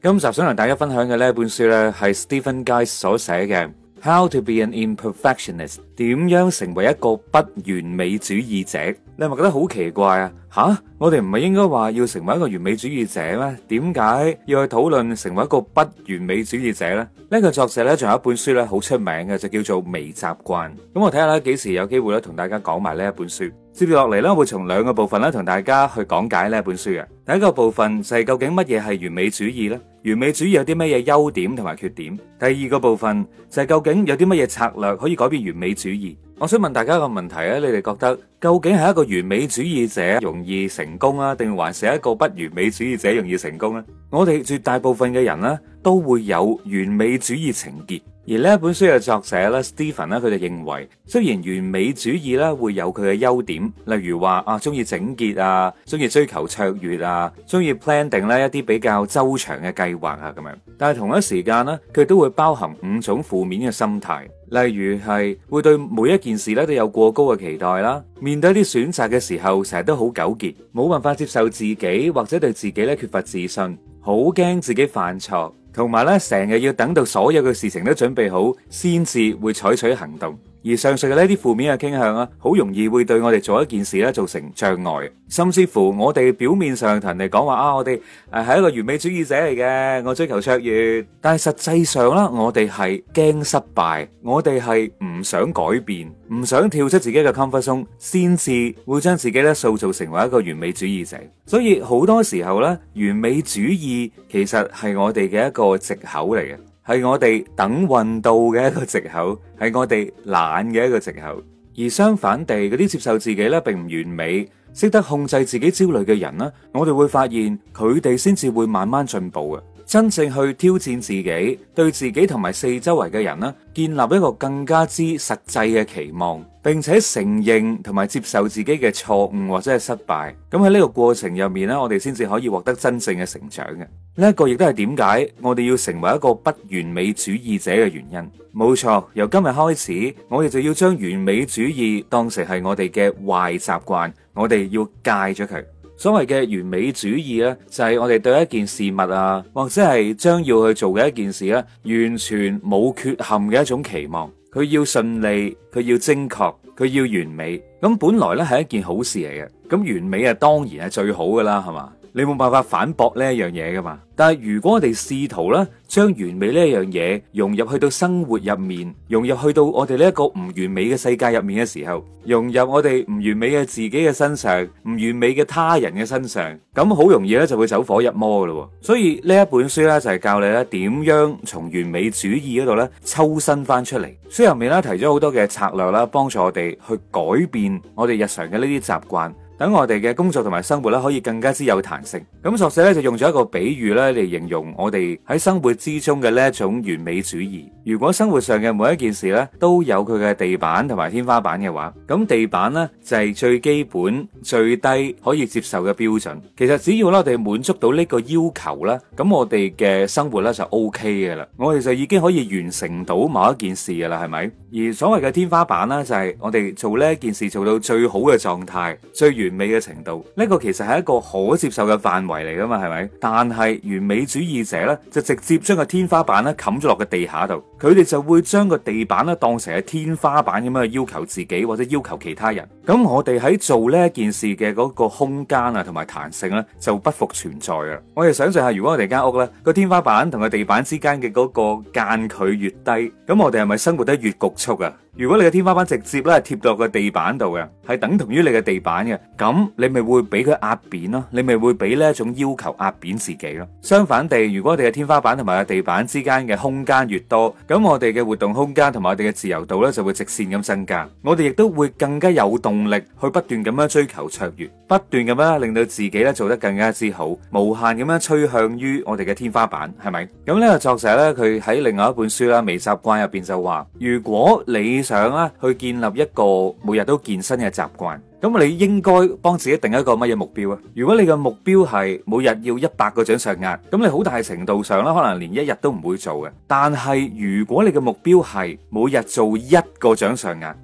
今集想同大家分享嘅呢一本書咧，係 Stephen Guy 所寫嘅《How to be an Imperfectionist》，點樣成為一個不完美主義者？你係咪覺得好奇怪啊？吓，我哋唔係應該話要成為一個完美主義者咩？點解要去討論成為一個不完美主義者呢？呢個作者咧仲有一本書咧好出名嘅，就叫做《微習慣》。咁我睇下咧幾時有機會咧同大家講埋呢一本書。接住落嚟咧，我會從兩個部分咧同大家去講解呢一本書嘅。第一個部分就係究竟乜嘢係完美主義呢？完美主義有啲乜嘢優點同埋缺點？第二個部分就係究竟有啲乜嘢策略可以改變完美主義？我想問大家一個問題啊，你哋覺得究竟係一個完美主義者容易成功啊，定還是一個不完美主義者容易成功呢？我哋絕大部分嘅人呢，都會有完美主義情結。而呢一本書嘅作者咧 Stephen 咧，佢就認為，雖然完美主義咧會有佢嘅優點，例如話中意整潔啊，中意追求卓越啊，中意 plan 定咧一啲比較周詳嘅計劃啊咁樣，但係同一時間咧，佢都會包含5種負面嘅心態，例如係會對每一件事咧都有過高嘅期待啦，面對一啲選擇嘅時候，成日都好糾結，冇辦法接受自己或者對自己咧缺乏自信，好驚自己犯錯。同埋咧，成日要等到所有嘅事情都準備好，先至會採取行動。而上述嘅呢啲負面嘅傾向啊，好容易會對我哋做一件事咧造成障礙，甚至乎我哋表面上同人哋講話我哋係一個完美主義者嚟嘅，我追求卓越，但係實際上啦，我哋係驚失敗，我哋係唔想改變，唔想跳出自己嘅 comfort zone，先至會將自己咧塑造成為一個完美主義者。所以好多時候咧，完美主義其實係我哋嘅一個藉口嚟嘅。係我哋等運到嘅一個藉口，係我哋懶嘅一個藉口。而相反地，嗰啲接受自己咧並唔完美，識得控制自己焦慮嘅人呢，我哋會發現佢哋先至會慢慢進步嘅。真正去挑戰自己，對自己同埋四周圍嘅人呢，建立一個更加之實際嘅期望，並且承認同埋接受自己嘅錯誤或者係失敗。咁喺呢個過程入面呢，我哋先至可以獲得真正嘅成長嘅。呢一個亦都係點解我哋要成為一個不完美主義者嘅原因。冇錯，由今日開始，我哋就要將完美主義當成係我哋嘅壞習慣，我哋要戒咗佢。所謂嘅完美主義呢，就係我哋對一件事物啊，或者係將要去做嘅一件事呢，完全冇缺陷嘅一種期望。佢要順利，佢要精確，佢要完美。咁本來呢係一件好事嚟嘅。咁完美啊，當然係最好噶啦，係嘛？你冇辦法反駁呢一樣嘢噶嘛？但係如果我哋試圖咧將完美呢一樣嘢融入去到生活入面，融入去到我哋呢一個唔完美嘅世界入面嘅時候，融入我哋唔完美嘅自己嘅身上，唔完美嘅他人嘅身上，咁好容易咧就會走火入魔噶咯。所以呢一本書咧就係教你咧點樣從完美主義嗰度咧抽身翻出嚟。書入面咧提咗好多嘅策略啦，幫助我哋去改變我哋日常嘅呢啲習慣。等我哋嘅工作同埋生活咧，可以更加之有彈性。咁作者咧就用咗一個比喻咧嚟形容我哋喺生活之中嘅呢一種完美主義。如果生活上嘅每一件事咧都有佢嘅地板同埋天花板嘅話，咁地板咧就係最基本、最低可以接受嘅標準。其實只要咧我哋滿足到呢個要求啦，咁我哋嘅生活咧就 OK 嘅啦。我哋就已經可以完成到某一件事嘅啦，係咪？而所謂嘅天花板咧，就係我哋做呢一件事做到最好嘅狀態、最完美嘅程度。呢個其實係一個可接受嘅範圍嚟噶嘛，係咪？但係完美主義者咧，就直接將個天花板咧冚咗落個地下度。佢哋就會將個地板咧當成係天花板咁樣去要求自己或者要求其他人。咁我哋喺做呢一件事嘅嗰個空間啊同埋彈性咧就不復存在啊！我哋想象下，如果我哋間屋咧個天花板同個地板之間嘅嗰個間距越低，咁我哋係咪生活得越局促啊？如果你嘅天花板直接咧貼落個地板度嘅，係等同於你嘅地板嘅，咁你咪會俾佢壓扁咯，你咪會俾呢一種要求壓扁自己咯。相反地，如果我哋嘅天花板同埋個地板之間嘅空間越多，咁我哋嘅活動空間同埋我哋嘅自由度咧就會直線咁增加，我哋亦都會更加有動力去不斷咁樣追求卓越，不斷咁樣令到自己咧做得更加之好，無限咁樣趨向於我哋嘅天花板，係咪？咁呢個作者咧，佢喺另外一本書啦《微習慣》入邊就話，如果你想啦去建立一個每日都健身嘅習慣，咁你應該幫自己定一個乜嘢目標啊？如果你嘅目標係每日要100個掌上壓，咁你好大程度上啦，可能連一日都唔會做嘅。但係如果你嘅目標係每日做1個掌上壓，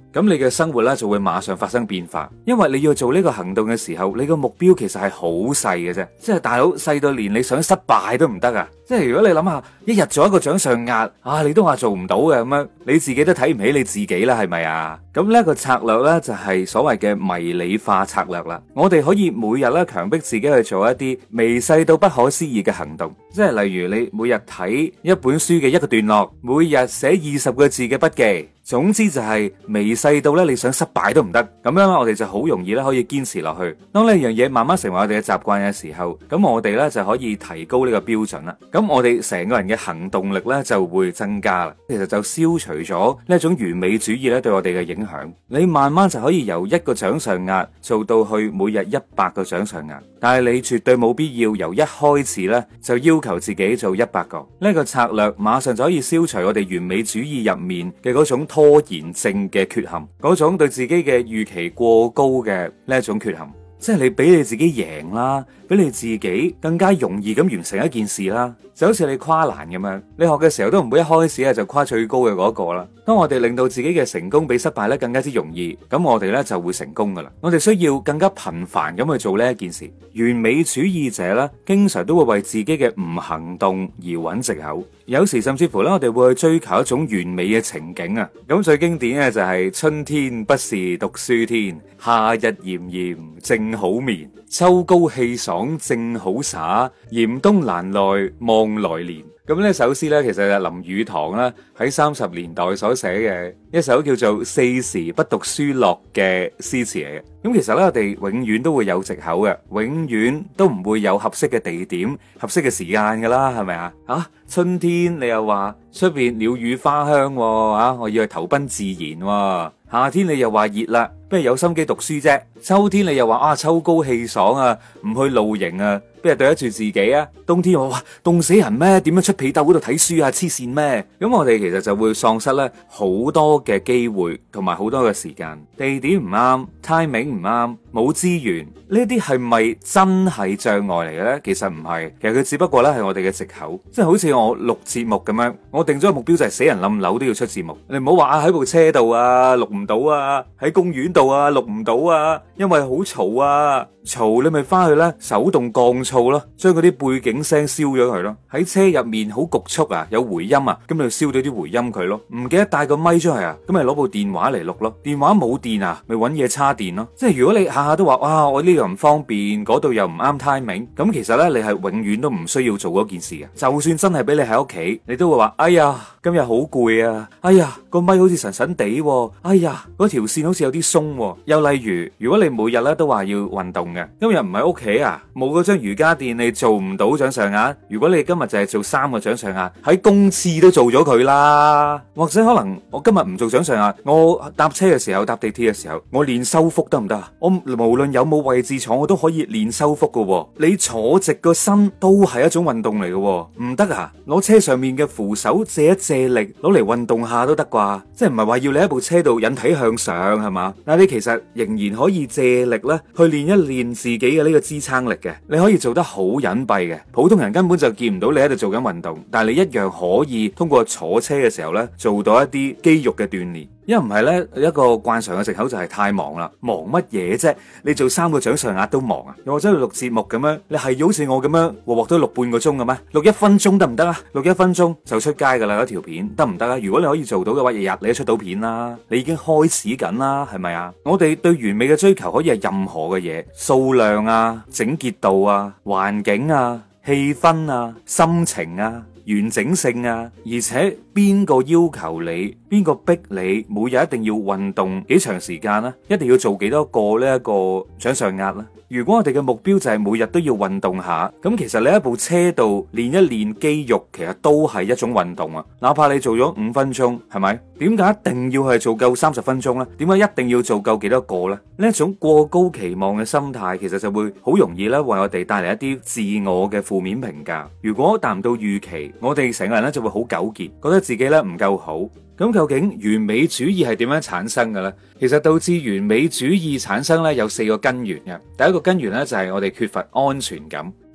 咁你嘅生活咧就會馬上發生變化。因為你要做呢個行動嘅時候，你個目標其實係好細嘅啫，即係大佬細到連你想失敗都唔得啊！即係如果你諗下，一日做一個掌上壓啊，你都話做唔到嘅咁樣，你自己都睇唔起你自己啦，係咪啊？咁呢個策略呢，就係所謂嘅迷你化策略啦。我哋可以每日咧強迫自己去做一啲微細到不可思議嘅行動，即係例如你每日睇一本書嘅一個段落，每日寫20個字嘅筆記。總之就係微細到咧，你想失敗都唔得，咁樣我哋就好容易咧可以堅持落去。當呢樣嘢慢慢成為我哋嘅習慣嘅時候，咁我哋咧就可以提高呢個標準啦。咁我哋成個人嘅行動力咧就會增加啦。其實就消除咗呢一種完美主義咧對我哋嘅影響。你慢慢就可以由1個掌上壓做到去每日100個掌上壓，但係你絕對冇必要由一開始咧就要求自己做100個。呢個策略馬上就可以消除我哋完美主義入面嘅嗰種拖延症嘅缺陷，嗰種對自己嘅預期過高嘅呢一種缺陷，即係你俾你自己贏啦，俾你自己更加容易咁完成一件事啦，就好似你跨欄咁樣，你學嘅時候都唔會一開始就跨最高嘅嗰個啦。當我哋令到自己嘅成功比失敗咧更加之容易，咁我哋咧就會成功噶啦。我哋需要更加頻繁咁去做呢一件事。完美主義者咧，經常都會為自己嘅唔行動而揾藉口，有時甚至乎咧，我哋會去追求一種完美嘅情景啊。咁最經典嘅就係春天不是讀書天，夏日炎炎正好眠，秋高氣爽正好灑，嚴冬難耐望來年。咁呢首詩咧，其實係林語堂啦喺30年代所寫嘅一首叫做《四時不讀書樂》嘅詩詞嚟嘅。咁其實咧，我哋永遠都會有藉口嘅，永遠都唔會有合適嘅地點、合適嘅時間噶啦，係咪啊？春天你又話出邊鳥語花香，我要去投奔自然。夏天你又話熱啦，不如有心機讀書啫。秋天你又話秋高氣爽啊，唔去露營啊，邊係對得住自己啊？冬天我話凍死人咩？點樣出被竇嗰度睇書啊？黐線咩？咁我哋其實就會喪失咧好多嘅機會同埋好多嘅時間，地點唔啱 ，timing 唔啱，冇資源，呢啲係咪真係障礙嚟嘅咧？其實唔係，其實佢只不過咧係我哋嘅藉口，即係好似我錄節目咁樣，我定咗個目標就係死人冧樓都要出節目，你唔好話喺部車度啊錄唔到啊，喺公園度啊錄唔到啊，因為好嘈啊。嘈你咪翻去咧手動降噪咯，將嗰啲背景聲燒咗佢咯。喺車入面好局促啊，有回音啊，咁咪燒咗啲回音佢咯。唔記得帶個咪出去啊，咁咪攞部電話嚟錄咯。電話冇電啊，咪搵嘢叉電咯。即係如果你下下都話哇我呢度唔方便，嗰度又唔啱 timing，咁其實咧你係永遠都唔需要做嗰件事嘅。就算真係俾你喺屋企，你都會話哎呀今日好攰啊，哎呀個咪好似神神地，哎呀嗰條線好似有啲鬆。又例如如果你每日咧都話要運動嘅，今日唔喺屋企啊，冇嗰張瑜伽墊你做唔到掌上壓。如果你今日就係做3個掌上壓，喺公廁都做咗佢啦。或者可能我今日唔做掌上壓，我搭車嘅時候搭地鐵嘅時候，我練收腹得唔得啊？我無論有冇位置坐，我都可以練收腹噶。你坐直個身都係一種運動嚟噶，唔得啊？攞車上面嘅扶手借一借力，攞嚟運動下都得啩？即係唔係話要你喺部車度引體向上係嘛？但係你其實仍然可以借力咧去練一練自己嘅呢個支撐力嘅，你可以做得好隱蔽嘅，普通人根本就見唔到你喺度做緊運動，但係你一樣可以通過坐車嘅時候咧做到一啲肌肉嘅鍛煉。因為唔係咧，一個慣常嘅藉口就係太忙啦。忙乜嘢啫？你做3個掌上壓都忙啊？又或者去錄節目咁樣，你係好似我咁樣鑊鑊都錄半個鐘嘅咩？錄1分鐘得唔得啊？錄1分鐘就出街噶啦，嗰條片得唔得啊？如果你可以做到嘅話，日日你都出到片啦，你已經開始緊啦，係咪啊？我哋對完美嘅追求可以係任何嘅嘢，數量啊、整潔度啊、環境啊、氣氛啊、心情啊、完整性啊，而且邊個要求你，邊個逼你每日一定要運動幾長時間呢？一定要做幾多個呢一個掌上壓呢？如果我哋嘅目標就係每日都要運動下，咁其實你喺部車度練一練肌肉，其實都係一種運動啊！哪怕你做咗5分鐘，係咪？點解一定要係做夠30分鐘呢？點解一定要做夠幾多個呢？呢一種過高期望嘅心態，其實就會好容易咧為我哋帶嚟一啲自我嘅負面評價。如果達唔到預期，我哋成個人咧就會好糾結，覺得自己咧唔夠好。咁究竟完美主義係點樣產生嘅咧？其實導致完美主義產生咧有4個根源嘅。第一個根源咧就係我哋缺乏安全感。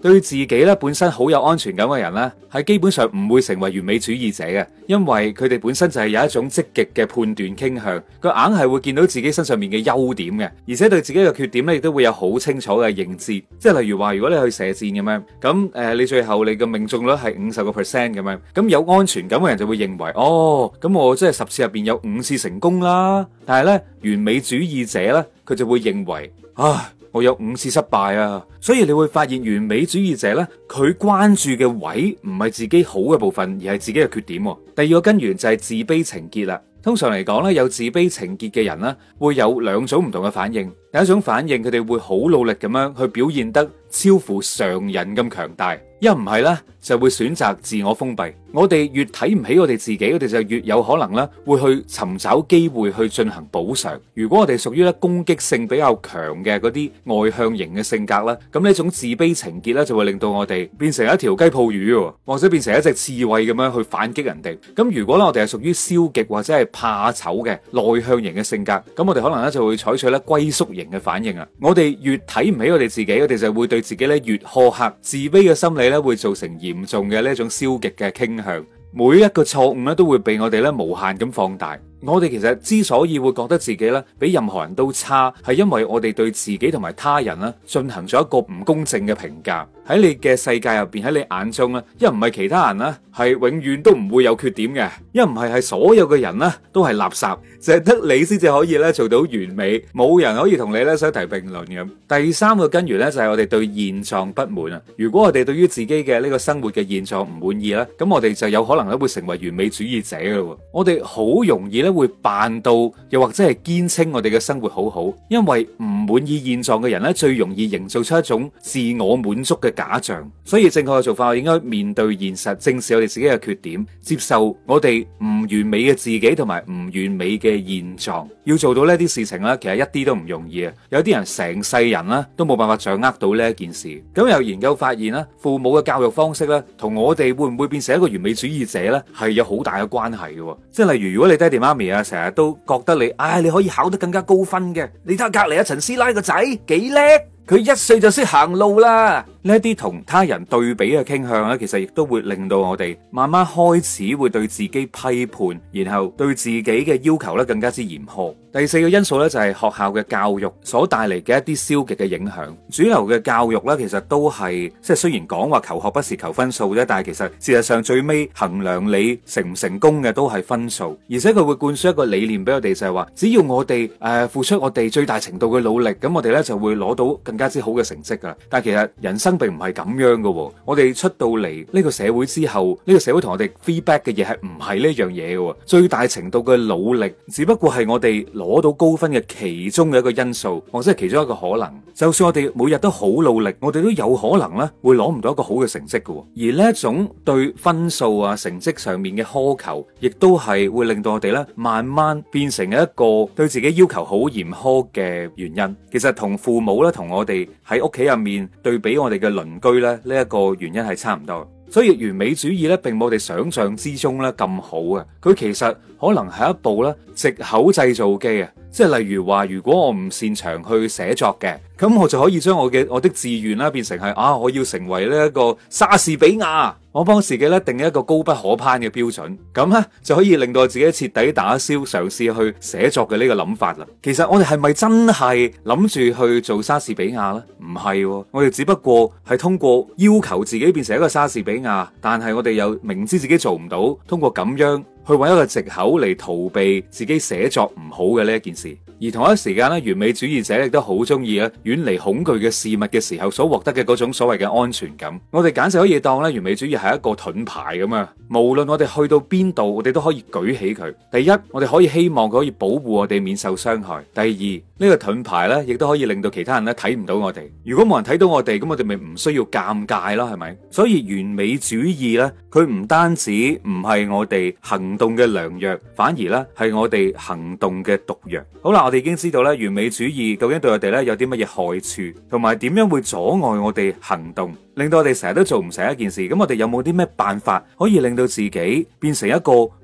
對自己咧本身好有安全感嘅人咧，係基本上唔會成為完美主義者嘅，因為佢哋本身就係有一種積極嘅判斷傾向，佢硬係會見到自己身上面嘅優點嘅，而且對自己嘅缺點咧亦都會有好清楚嘅認知。即係例如話，如果你去射箭咁樣，咁你最後你嘅命中率係50%咁樣，咁有安全感嘅人就會認為，哦，咁我即係10次入邊有5次成功啦。但係咧，完美主義者咧，佢就會認為，唉，我有5次失敗啊。所以你會發現完美主義者咧，佢關注嘅位唔係自己好嘅部分，而係自己嘅缺點。第二個根源就係自卑情結啦。通常嚟講咧，有自卑情結嘅人咧，會有2種唔同嘅反應。第一種反應，佢哋會好努力咁樣去表現得超乎常人咁強大，一唔係咧就會選擇自我封閉。我哋越睇唔起我哋自己，我哋就越有可能咧會去尋找機會去進行補償。如果我哋屬於咧攻擊性比較強嘅嗰啲外向型嘅性格啦，咁呢一種自卑情結咧就會令到我哋變成一條雞泡魚，或者變成一隻刺蝟咁樣去反擊人哋。咁如果咧我哋係屬於消極或者係怕醜嘅內向型嘅性格，咁我哋可能咧就會採取咧龜縮型嘅反應啊。我哋越睇唔起我哋自己，我哋就會對自己咧越苛刻，自卑嘅心理咧會造成嚴重嘅呢一種消極嘅傾向。每一個錯誤咧都會被我哋咧無限咁放大。我哋其實之所以會覺得自己咧比任何人都差，係因為我哋對自己同埋他人咧進行咗一個唔公正嘅評價。喺你嘅世界入邊，喺你眼中咧，一唔係其他人咧係永遠都唔會有缺點嘅，一唔係所有嘅人咧都係垃圾，淨係得你先至可以咧做到完美，冇人可以同你咧相提並論咁。第三個根源咧就係我哋對現狀不滿啊！如果我哋對於自己嘅呢個生活嘅現狀唔滿意咧，咁我哋就有可能咧會成為完美主義者噶咯。我哋好容易咧會扮到，又或者係堅稱我哋嘅生活好好，因為唔滿意現狀嘅人咧最容易營造出一種自我滿足嘅假象。所以正確嘅做法，我應該面對現實，正視我哋自己嘅缺點，接受我哋唔完美嘅自己同埋唔完美嘅現狀。要做到呢啲事情咧，其實一啲都唔容易啊！有啲人成世人咧都冇辦法掌握到呢一件事。咁有研究發現咧，父母嘅教育方式咧，同我哋會唔會變成一個完美主義者咧，係有好大嘅關係嘅。即係例如，如果你爹哋媽咪啊，成日都覺得你可以考得更加高分嘅，你睇下隔籬阿陳師奶個仔幾叻。佢1歲就識行路啦！呢一啲同他人對比嘅傾向咧，其實亦都會令到我哋慢慢開始會對自己批判，然後對自己嘅要求咧更加之嚴苛。第4個因素咧就係學校嘅教育所帶嚟嘅一啲消極嘅影響。主流嘅教育咧，其實都係即係雖然講話求學不是求分數啫，但係其實事實上最尾衡量你成唔成功嘅都係分數，而且佢會灌輸一個理念俾我哋，就係話只要我哋付出我哋最大程度嘅努力，咁我哋咧就會攞到更加之好嘅成績噶。但係其實人生並唔係咁樣噶。我哋出到嚟呢個社會之後，呢個社會同我哋 feedback 嘅嘢係唔係呢樣嘢噶。最大程度嘅努力只不過係我哋攞到高分嘅其中嘅一個因素，或者係其中一個可能。就算我哋每日都好努力，我哋都有可能咧會攞唔到一個好嘅成績噶。而呢一種對分數啊成績上面嘅苛求，亦都係會令到我哋咧慢慢變成一個對自己要求好嚴苛嘅原因。其實同父母咧同我哋喺屋企入面對比我哋嘅鄰居咧呢一個原因係差唔多。所以完美主義咧並冇我哋想象之中咧咁好啊！佢其實可能係一部咧藉口製造機啊！即係例如話，如果我唔擅長去寫作嘅，咁我就可以將我的志願啦變成係我要成為呢一個莎士比亞。我幫自己咧定一個高不可攀嘅標準，咁咧就可以令到我自己徹底打消嘗試去寫作嘅呢個諗法啦。其實我哋係咪真係諗住去做莎士比亞呢？唔係，我哋只不過係通過要求自己變成一個莎士比亞，但係我哋又明知自己做唔到，通過咁樣去揾一個藉口嚟逃避自己寫作唔好嘅呢一件事。而同一時間咧，完美主義者亦都好中意遠離恐懼嘅事物嘅時候所獲得嘅嗰種所謂嘅安全感。我哋簡直可以當完美主義係一個盾牌咁啊！無論我哋去到邊度，我哋都可以舉起佢。第一，我哋可以希望佢可以保護我哋免受傷害；第二，呢個盾牌咧，亦都可以令到其他人咧睇唔到我哋。如果冇人睇到我哋，咁我哋咪唔需要尷尬啦，係咪？所以完美主義咧，佢唔單止唔係我哋行動嘅良藥，反而咧係我哋行動嘅毒藥。好啦，我哋已經知道咧，完美主義究竟對我哋咧有啲乜嘢害處，同埋點樣會阻礙我哋行動，令到我哋成日都做唔成一件事。咁我哋有冇啲咩辦法可以令到自己變成一個不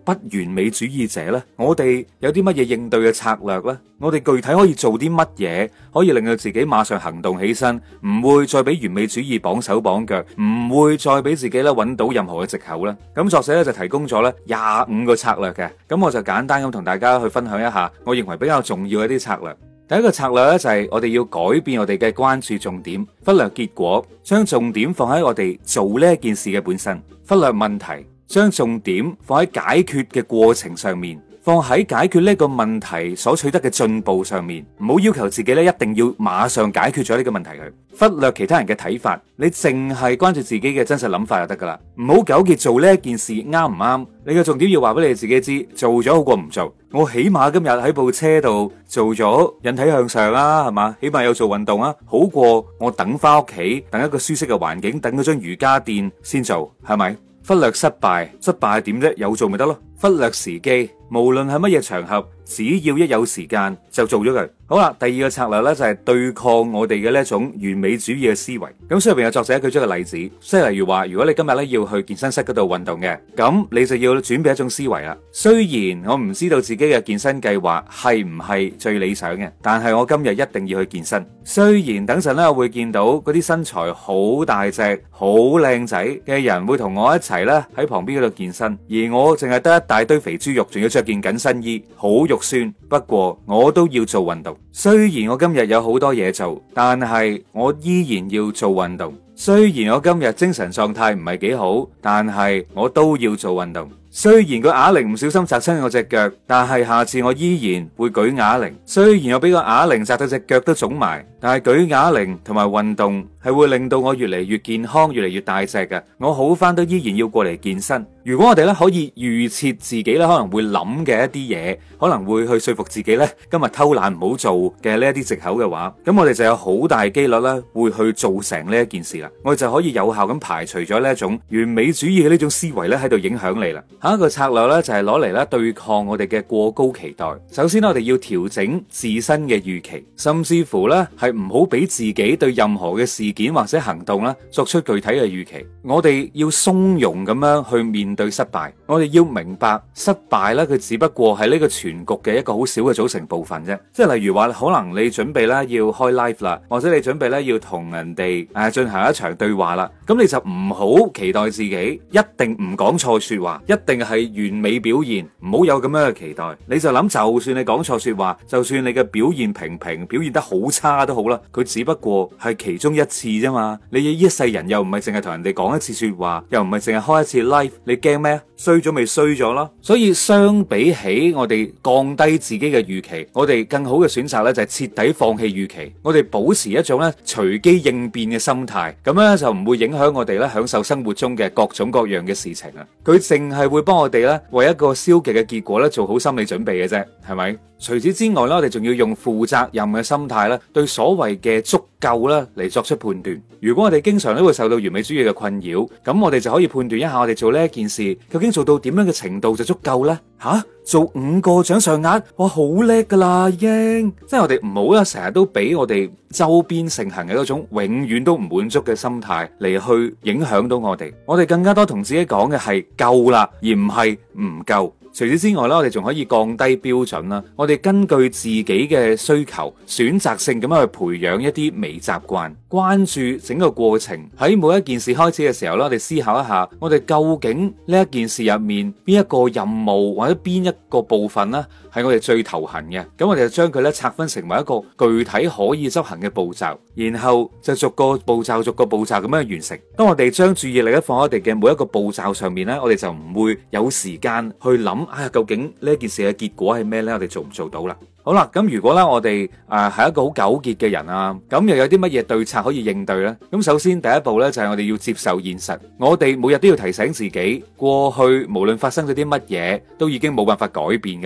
不完美主義者呢？我哋有啲乜嘢應對嘅策略呢？我哋具體可以做啲乜嘢，可以令到自己馬上行動起身，唔會再俾完美主義綁手綁腳，唔會再俾自己咧揾到任何嘅藉口呢？咁作者咧就提供咗咧25個策略嘅，咁我就簡單咁同大家去分享一下，我認為比較重要嘅一啲策略。第一個策略咧就係我哋要改變我哋嘅關注重點，忽略結果，將重點放喺我哋做呢一件事嘅本身，忽略問題，將重點放喺解決嘅過程上面，放喺解決呢個問題所取得嘅進步上面，唔好要求自己咧一定要馬上解決咗呢個問題佢，忽略其他人嘅睇法，你淨係關注自己嘅真實諗法就得噶啦，唔好糾結做呢一件事啱唔啱，你嘅重點要話俾你自己知，做咗好過唔做。我起碼今日喺部車度做咗引體向上啦，係嘛？起碼有做運動啊，好過我等翻屋企，等一個舒適嘅環境，等嗰張瑜伽墊先做，係咪？忽略失敗，失敗係點啫？有做咪得咯。忽略時機，無論係乜嘢場合，只要一有時間就做咗佢。好啦，第二個策略咧就係對抗我哋嘅呢一種完美主義嘅思維。咁書入邊有作者舉咗個例子，即係例如話，如果你今日咧要去健身室嗰度運動嘅，咁你就要轉變一種思維啦。雖然我唔知道自己嘅健身計劃係唔係最理想嘅，但係我今日一定要去健身。雖然等陣咧我會見到嗰啲身材好大隻、好靚仔嘅人會同我一齊咧喺旁邊嗰度健身，而我淨係得一大堆肥豬肉，仲要着件緊身衣，好肉酸。不過我都要做運動。雖然我今日有好多嘢做，但係我依然要做運動。雖然我今日精神狀態唔係幾好，但係我都要做運動。雖然個啞鈴唔小心砸親我隻腳，但係下次我依然會舉啞鈴。雖然我俾個啞鈴砸到隻腳都腫埋，但係舉啞鈴同埋運動係會令到我越嚟越健康，越嚟越大隻嘅。我好返都依然要過嚟健身。如果我哋咧可以預設自己咧可能會諗嘅一啲嘢，可能會去說服自己咧今日偷懶唔好做嘅呢一啲藉口嘅話，咁我哋就有好大機率咧會去做成呢一件事啦。我哋就可以有效咁排除咗呢一種完美主義嘅呢種思維咧喺度影響你啦。下一個策略咧就係攞嚟咧對抗我哋嘅過高期待。首先我哋要調整自身嘅預期，甚至乎咧係唔好俾自己對任何嘅事件或者行動咧作出具體嘅預期。我哋要鬆容咁樣去面對失敗。我哋要明白失敗咧佢只不過係呢個全局嘅一個好小嘅組成部分啫。即係例如話可能你準備咧要開 live 啦，或者你準備咧要同人哋進行一場對話啦，咁你就唔好期待自己一定唔講錯說話，一定係完美表現，唔好有咁樣嘅期待。你就諗就算你講錯說話，就算你嘅表現平平，表現得好差都好啦，佢只不過係其中一次啫嘛。你一世人又唔係淨係同人哋講一次說話，又唔係淨係開一次 live， 你驚咩？衰咗咪衰咗咯。所以相比起我哋降低自己嘅預期，我哋更好嘅選擇咧就係徹底放棄預期。我哋保持一種咧隨機應變嘅心態，咁樣就唔會影響我哋咧享受生活中嘅各種各樣嘅事情啊。佢淨係會幫我哋咧為一個消極嘅結果咧做好心理準備嘅啫，係咪？除此之外咧，我哋仲要用負責任嘅心態咧，對所謂嘅足夠咧嚟作出判斷。如果我哋經常都會受到完美主義嘅困擾，咁我哋就可以判斷一下我哋做呢一件事究竟做到點樣嘅程度就足夠呢？做5個掌上壓，哇，好叻噶啦已經！即係我哋唔好啦，成日都俾我哋周邊盛行嘅嗰種永遠都唔滿足嘅心態嚟去影響到我哋。我哋更加多同自己講嘅係夠啦，而唔係唔夠。除此之外咧，我哋仲可以降低標準啦。我哋根據自己嘅需求，選擇性咁樣去培養一啲微習慣，關注整個過程。喺每一件事開始嘅時候咧，我哋思考一下，我哋究竟呢一件事入面邊一個任務或者邊一個部分呢係我哋最頭痕嘅。咁我哋就將佢咧拆分成為一個具體可以執行嘅步驟，然後就逐個步驟咁樣完成。當我哋將注意力放喺我哋嘅每一個步驟上面咧，我哋就唔會有時間去諗究竟呢件事嘅結果係咩呢？我哋做唔做到啦？好啦，咁如果咧我哋係一個好糾結嘅人啊，咁又有啲乜嘢對策可以應對呢？咁首先第一步呢，就係我哋要接受現實，我哋每日都要提醒自己，過去無論發生咗啲乜嘢，都已經冇辦法改變噶啦。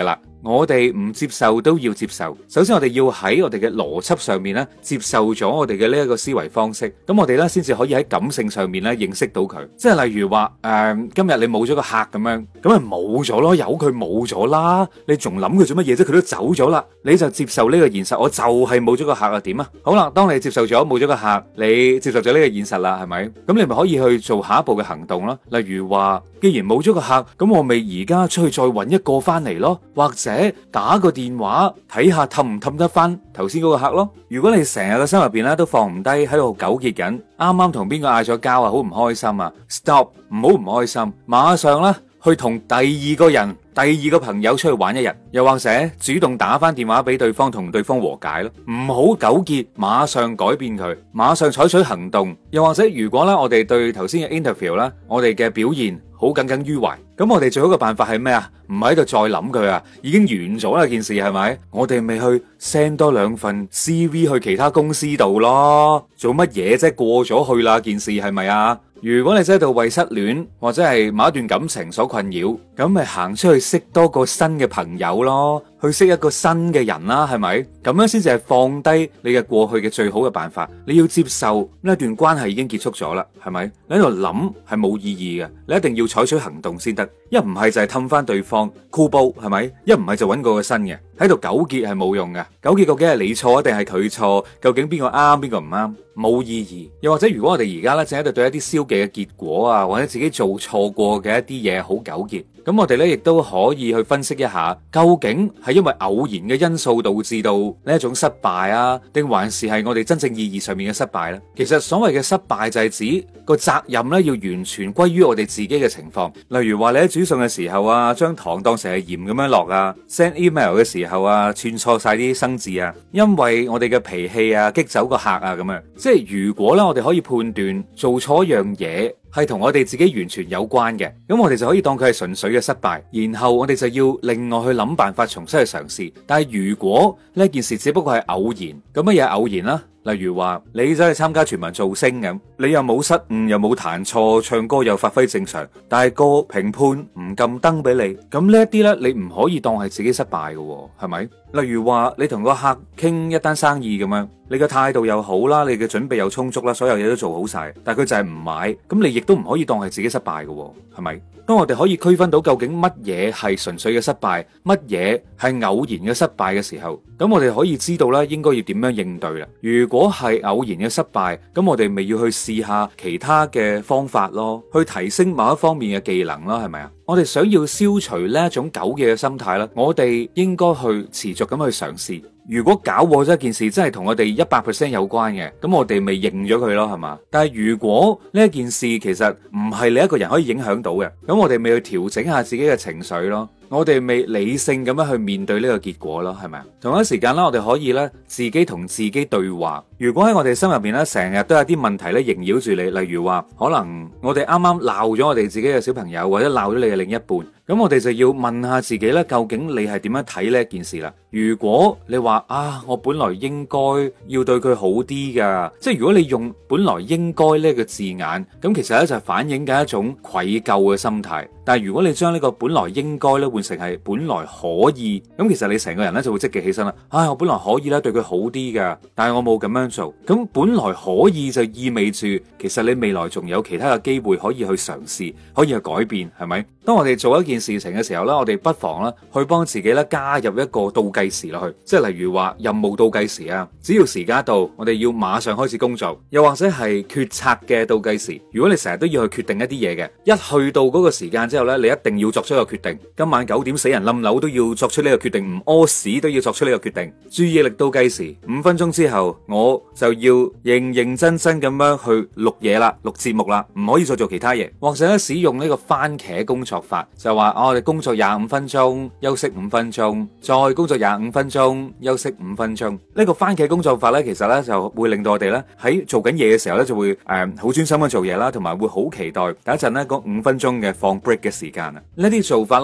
我哋唔接受都要接受。首先我哋要喺我哋嘅邏輯上面咧接受咗我哋嘅呢一個思維方式，咁我哋咧先至可以喺感性上面咧認識到佢。即係例如話今日你冇咗個客咁樣，咁咪冇咗咯，由佢冇咗啦，你仲諗佢做乜嘢啫？佢都走咗啦，你就接受呢個現實，我就係冇咗個客啊，點啊？好啦，當你接受咗冇咗個客，你接受咗呢個現實啦，係咪？咁你咪可以去做下一步嘅行動咯。例如話，既然冇咗個客，咁我咪而家出去再搵一個翻嚟咯，或者打個電話睇下氹唔氹得翻頭先嗰個客咯。如果你成日個心入邊咧都放唔低，喺度糾結緊，啱啱同邊個嗌咗交啊，好唔開心啊 ，stop， 唔好唔開心，馬上啦去同第二個人、第二個朋友出去玩一日，又或者主動打翻電話俾對方，同對方和解咯，唔好糾結，馬上改變佢，馬上採取行動。又或者如果咧我哋對頭先嘅 interview 咧，我哋嘅表現好耿耿於懷，咁我哋最好嘅辦法係咩啊？唔喺度再諗佢啊，已經完咗啦件事，係咪？我哋咪去 send 多兩份 CV 去其他公司度咯，做乜嘢啫？過咗去啦件事，係咪啊？如果你真係度為失戀或者係某一段感情所困擾，咁咪行出去識多個新嘅朋友咯，去識一個新嘅人啦，係咪？咁樣先至係放低你嘅過去嘅最好嘅辦法。你要接受呢一段關係已經結束咗啦，係咪？你喺度諗係冇意義嘅，你一定要採取行動先得。一唔係就係氹翻對方箍煲，係咪？一唔係就揾個新嘅，喺度糾結係冇用嘅。糾結究竟係你錯定係佢錯？究竟邊個啱邊個唔啱？冇意義。又或者如果我哋而家咧正喺度對一啲消極嘅結果啊，或者自己做錯過嘅一啲嘢好糾結，咁我哋咧亦都可以去分析一下，究竟係因為偶然嘅因素導致到呢一種失敗啊，定還是係我哋真正意義上面嘅失敗呢？其實所謂嘅失敗就係指個責任咧要完全歸於我哋自己嘅情況。例如話你喺煮餸嘅時候啊，將糖當成係鹽咁樣落啊，send email 嘅時候啊，串錯晒啲生字啊，因為我哋嘅脾氣啊激走個客啊咁樣。即係如果咧我哋可以判斷做錯一樣嘢係同我哋自己完全有關嘅，咁我哋就可以當佢係純粹嘅失敗，然後我哋就要另外去諗辦法重新去嘗試。但係如果呢件事只不過係偶然，咁乜嘢偶然啦？例如話你走去參加全民造星咁，你又冇失誤，又冇彈錯，唱歌又發揮正常，但係個評判唔撳燈俾你，咁呢一啲呢，你唔可以當係自己失敗嘅，係咪？例如話你同個客傾一單生意咁樣，你嘅態度又好啦，你嘅準備又充足啦，所有嘢都做好晒，但係佢就係唔買，咁你亦都唔可以當係自己失敗嘅，係咪？當我哋可以區分到究竟乜嘢係純粹嘅失敗，乜嘢係偶然嘅失敗嘅時候，咁我哋可以知道啦，應該要點樣應對啦。如果係偶然嘅失敗，咁我哋咪要去試下其他嘅方法咯，去提升某一方面嘅技能咯，係咪啊？我哋想要消除呢一種糾結嘅心態啦，我哋應該去持續咁去嘗試。如果搞錯咗一件事真係同我哋100% 有關嘅，咁我哋咪認咗佢咯，係嘛？但係如果呢一件事其實唔係你一個人可以影響到嘅，咁我哋咪去調整下自己嘅情緒咯，我哋咪理性咁樣去面對呢個結果咯，係咪啊？同一時間啦，我哋可以咧自己同自己對話。如果喺我哋心入邊咧成日都有啲問題咧縈繞住你，例如話可能我哋啱啱鬧咗我哋自己嘅小朋友，或者鬧咗你嘅另一半，咁我哋就要問下自己咧，究竟你係點樣睇呢一件事啦？如果你話啊，我本來應該要對佢好啲噶，即係如果你用本來應該呢個字眼，咁其實咧就係反映緊一種愧疚嘅心態。但係如果你將呢個本來應該咧換成係本來可以，咁其實你成個人咧就會積極起身啦。唉，我本來可以咧對佢好啲噶，但係我冇咁樣做。咁本來可以就意味住，其實你未來仲有其他嘅機會可以去嘗試，可以去改變，係咪？當我哋做一件事情嘅時候咧，我哋不妨咧去幫自己咧加入一個倒計時落去，即係例如話任務倒計時啊，只要時間一到，我哋要馬上開始工作，又或者係決策嘅倒計時。如果你成日都要去決定一啲嘢嘅，一去到嗰個時間之後咧，你一定要作出一個決定。今晚9點死人冧樓都要作出呢個決定，唔屙屎都要作出呢個決定。注意力倒計時，5分鐘之後我就要認認真真咁樣去錄嘢啦，錄節目啦，唔可以再做其他嘢。或者咧使用呢個番茄工作法，就係話我哋工作25分鐘，休息5分鐘，再工作25分鐘，休息5分鐘。呢個番茄工作法咧，其實咧就會令到我哋咧喺做緊嘢嘅時候咧就會好專心咁做嘢啦，同埋會好期待等一陣咧嗰5分鐘嘅放 break 嘅時間啊。呢啲做法咧都係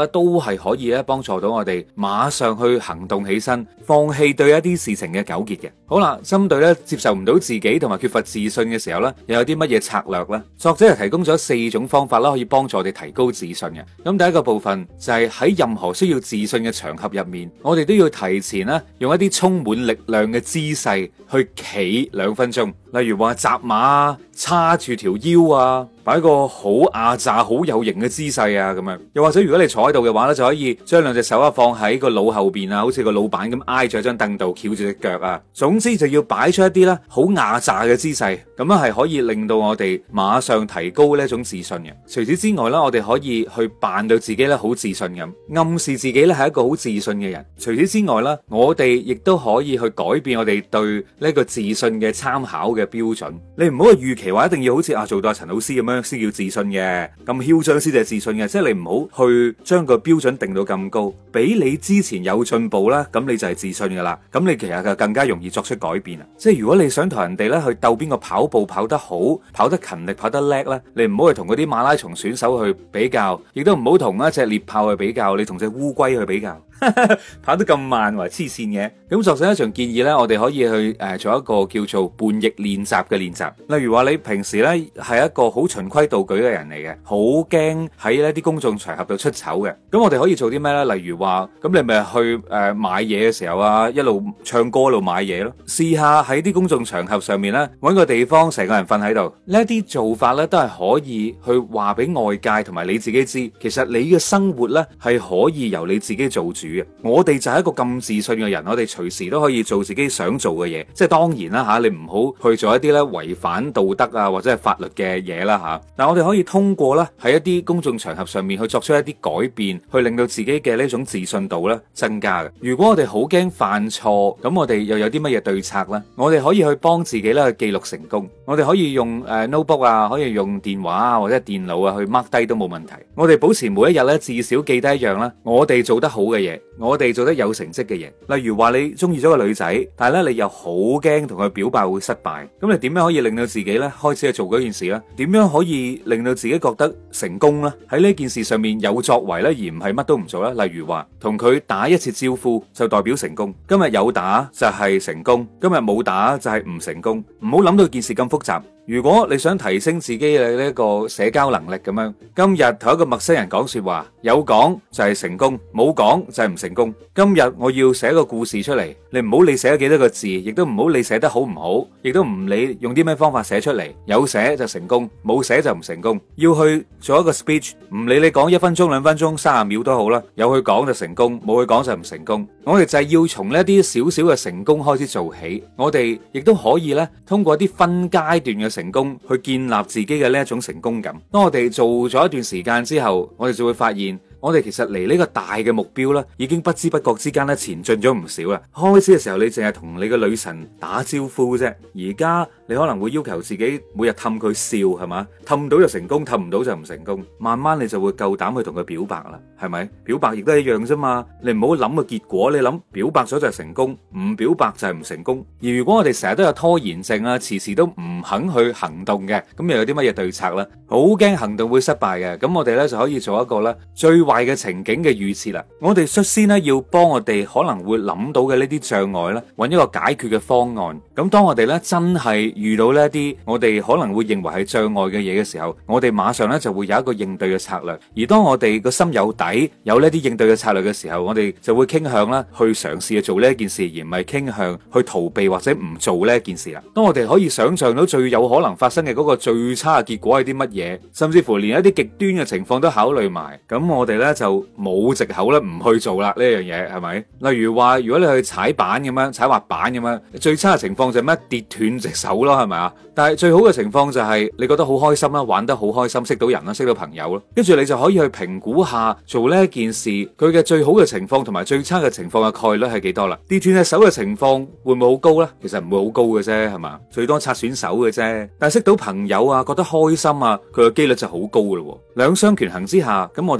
係可以咧幫助到我哋馬上去行動起身，放棄對一啲事情嘅糾結嘅。好啦，針對咧接受唔到自己同埋缺乏自信嘅時候咧，又有啲乜嘢策略咧？作者係提供咗4種方法啦，可以幫助我哋提高自信嘅。咁第一個部分就係喺任何需要自信嘅場合入面，我哋都要提前咧用一啲充滿力量嘅姿勢去企2分鐘，例如話紮馬啊，叉住條腰啊，擺個好壓榨、好有型嘅姿勢啊，咁樣。又或者如果你坐喺度嘅話咧，就可以將2隻手啊放喺個腦後邊啊，好似個老闆咁挨住張凳度，翹住隻腳啊。總之就要擺出一啲咧好壓榨嘅姿勢，咁樣係可以令到我哋馬上提高呢一種自信嘅。除此之外啦，我哋可以去扮到自己咧好自信咁，暗示自己咧係一個好自信嘅人。除此之外啦，我哋亦都可以去改變我哋對呢個自信嘅參考嘅標準。你唔好去預期話一定要好似做到阿陳老師咁樣先叫自信嘅，咁囂張先至係自信嘅。即係你唔好去將個標準定到咁高，比你之前有進步啦，咁你就係自信噶啦。咁你其實就更加容易作出改變啊！即係如果你想同人哋咧去鬥邊個跑步跑得好、跑得勤力、跑得叻咧，你唔好去同嗰啲馬拉松選手去比較，亦都唔好同一隻獵豹去比較，你同隻烏龜去比較。跑得咁慢，話黐線嘅。咁作者一場建議呢，我哋可以去做一個叫做叛逆練習嘅練習。例如話你平時呢係一個好循規蹈矩嘅人嚟嘅，好驚喺呢啲公眾場合度出醜嘅。咁我哋可以做啲咩呢？例如話咁你咪去買嘢嘅時候啊，一路唱歌一路買嘢咯。試下喺啲公眾場合上面呢，搵個地方成個人瞓喺度。呢啲做法呢，都係可以去話俾外界同埋你自己知，其實你嘅生活呢係可以由你自己做主。我哋就係一個咁自信嘅人，我哋隨時都可以做自己想做嘅嘢。即係當然啦吓，你唔好去做一啲咧違反道德啊或者係法律嘅嘢啦吓。但係我哋可以通過咧喺一啲公眾場合上面去作出一啲改變，去令到自己嘅呢種自信度咧增加嘅。如果我哋好驚犯錯，咁我哋又有啲乜嘢對策呢？我哋可以去幫自己咧去記錄成功。我哋可以用notebook 啊，可以用電話啊或者電腦啊去 mark 低都冇問題。我哋保持每一日咧至少記低一樣啦，我哋做得好嘅嘢。我哋做得有成績嘅嘢，例如話你中意咗個女仔，但係咧你又好驚同佢表白會失敗，咁你點樣可以令到自己咧開始去做嗰件事咧？點樣可以令到自己覺得成功咧？喺呢件事上面有作為咧，而唔係乜都唔做咧。例如話同佢打一次招呼就代表成功，今日有打就係成功，今日冇打就係唔成功。唔好諗到件事咁複雜。如果你想提升自己嘅呢個社交能力咁樣，今日同一個陌生人講說話，有講就係成功，冇講就係唔成功。今日我要寫個故事出嚟，你唔好理寫咗幾多個字，亦都唔好理寫得好唔好，亦都唔理用啲咩方法寫出嚟，有寫就成功，冇寫就唔成功。要去做一個 speech， 唔理你講1分鐘、2分鐘、30秒都好啦，有去講就成功，冇去講就唔成功。我哋就係要從呢啲少少嘅成功開始做起，我哋亦都可以咧通過一啲分階段嘅成功去建立自己嘅呢一種成功感。當我哋做咗一段時間之後，我哋就會發現我哋其實離呢個大嘅目標咧，已經不知不覺之間咧前進咗唔少啦。開始嘅時候你淨係同你個女神打招呼啫，而家你可能會要求自己每日氹佢笑，係嘛？氹到就成功，氹唔到就唔成功。慢慢你就會夠膽去同佢表白啦，係咪？表白亦都係一樣啫嘛。你唔好諗個結果，你諗表白咗就係成功，唔表白就係唔成功。而如果我哋成日都有拖延症啊，遲遲都唔肯去行動嘅，咁又有啲乜嘢對策呢？好驚行動會失敗嘅，咁我哋咧就可以做一個咧最壞嘅情景嘅預設啦。我哋率先咧要幫我哋可能會諗到嘅呢啲障礙咧，揾一個解決嘅方案。咁當我哋咧真係遇到呢一啲我哋可能會認為係障礙嘅嘢嘅時候，我哋馬上咧就會有一個應對嘅策略。而當我哋個心有底，有呢啲應對嘅策略嘅時候，我哋就會傾向啦去嘗試去做呢一件事，而唔係傾向去逃避或者唔做呢一件事啦。當我哋可以想象到最有可能發生嘅嗰個最差嘅結果係啲乜嘢，甚至乎連一啲極端嘅情況都考慮埋，咁我哋咧就冇藉口咧唔去做啦呢樣嘢，係咪？例如話如果你去踩板咁樣，踩滑板咁樣，最差嘅情況就係咩？跌斷隻手咯，係咪啊？但係最好嘅情況就係你覺得好開心啦，玩得好開心，識到人啦，識到朋友啦，跟住你就可以去評估下做呢一件事佢嘅最好嘅情況同埋最差嘅情況嘅概率係幾多啦？跌斷隻手嘅情況會唔會好高呢？其實唔會好高嘅啫，係嘛？最多擦損手嘅啫。但係識到朋友啊，覺得開心啊，佢嘅機率就好高噶咯。兩相權衡之下，咁我哋咧就會更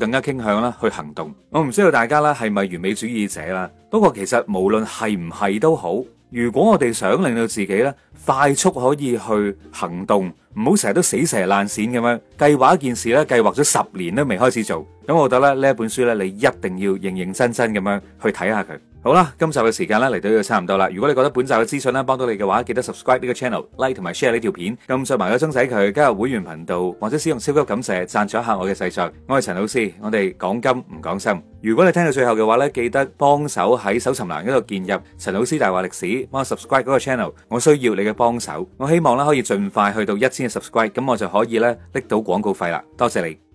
更加傾向啦去行動。我唔知道大家咧係咪完美主義者啦，不過其實無論係唔係都好，如果我哋想令到自己咧快速可以去行動，唔好成日都死蛇爛鱔咁樣計劃一件事咧，計劃咗10年都未開始做，咁我覺得咧呢一本書咧，你一定要認認真真咁樣去睇下佢。好啦，今集嘅時間咧嚟到呢度差唔多啦。如果你覺得本集嘅資訊咧幫到你嘅話，記得 subscribe 呢個 channel、like 同埋 share 呢條片，撳上埋個鐘仔佢，加入會員頻道或者使用超級感謝贊助一下我嘅製作。我係陳老師，我哋講金唔講心。如果你聽到最後嘅話咧，記得幫手喺搜尋欄嗰度建入陳老師大話歷史，幫我 subscribe 嗰個 channel。我需要你嘅幫手，我希望咧可以盡快去到1000嘅 subscribe，咁我就可以咧拎到廣告費啦。多謝你。